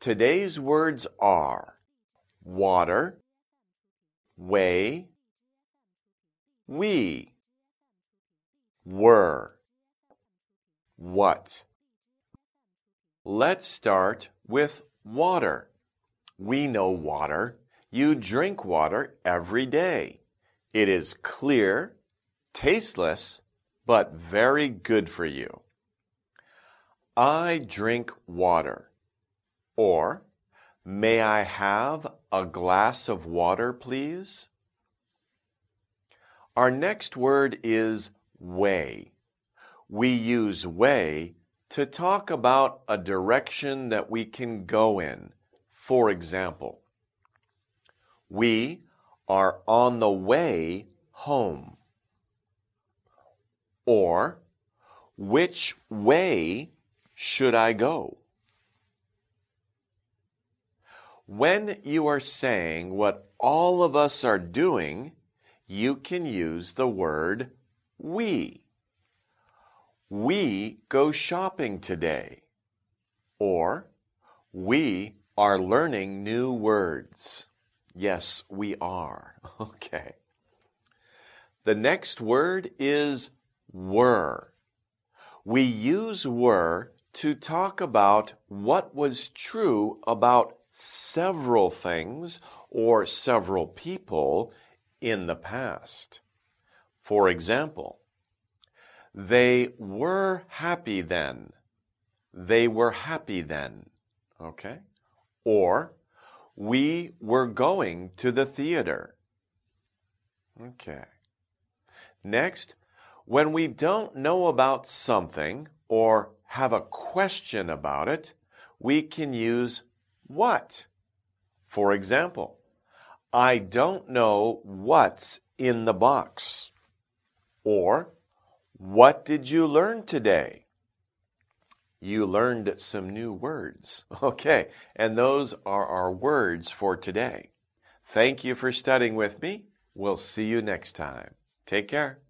Today's words are water, way, we, were, what. Let's start with water. We know water. You drink water every day. It is clear, tasteless, but very good for you. I drink water. Or, may I have a glass of water, please? Our next word is way. We use way to talk about a direction that we can go in. For example, we are on the way home. Or, which way should I go? When you are saying what all of us are doing, you can use the word we. We go shopping today. Or, we are learning new words. Yes, we are. Okay. The next word is were. We use were to talk about what was true about several things or several people in the past. For example, they were happy then. They were happy then. Okay? Or, we were going to the theater. Okay. Next, when we don't know about something or have a question about it, we can use what. For example, I don't know what's in the box. Or, what did you learn today? You learned some new words. Okay, and those are our words for today. Thank you for studying with me. We'll see you next time. Take care.